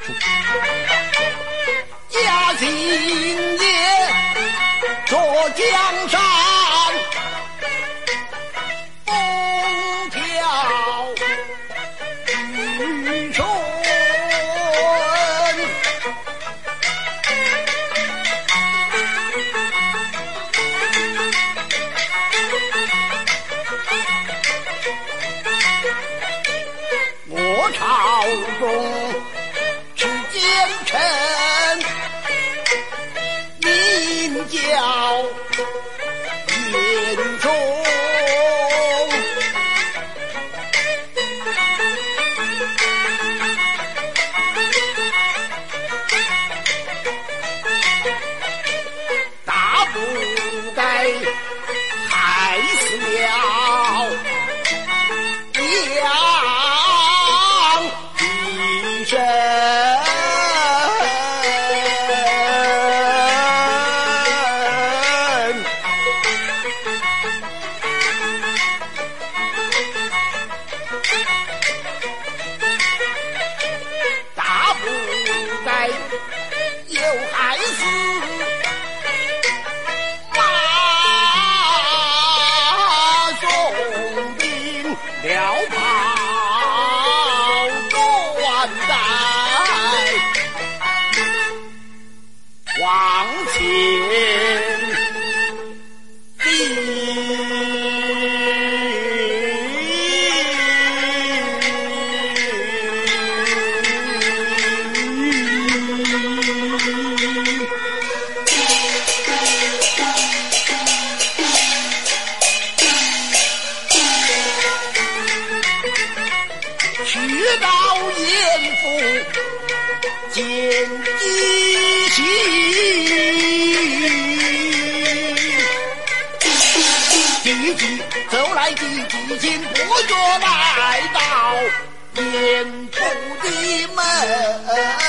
嘉兴也坐江山，风调雨顺。我朝中是奸臣，名叫严嵩。大不该害死了杨医生。大不该又害死马宋兵辽袍断带，往前去到严府见义行，弟弟走来弟弟进不觉来到严府的门。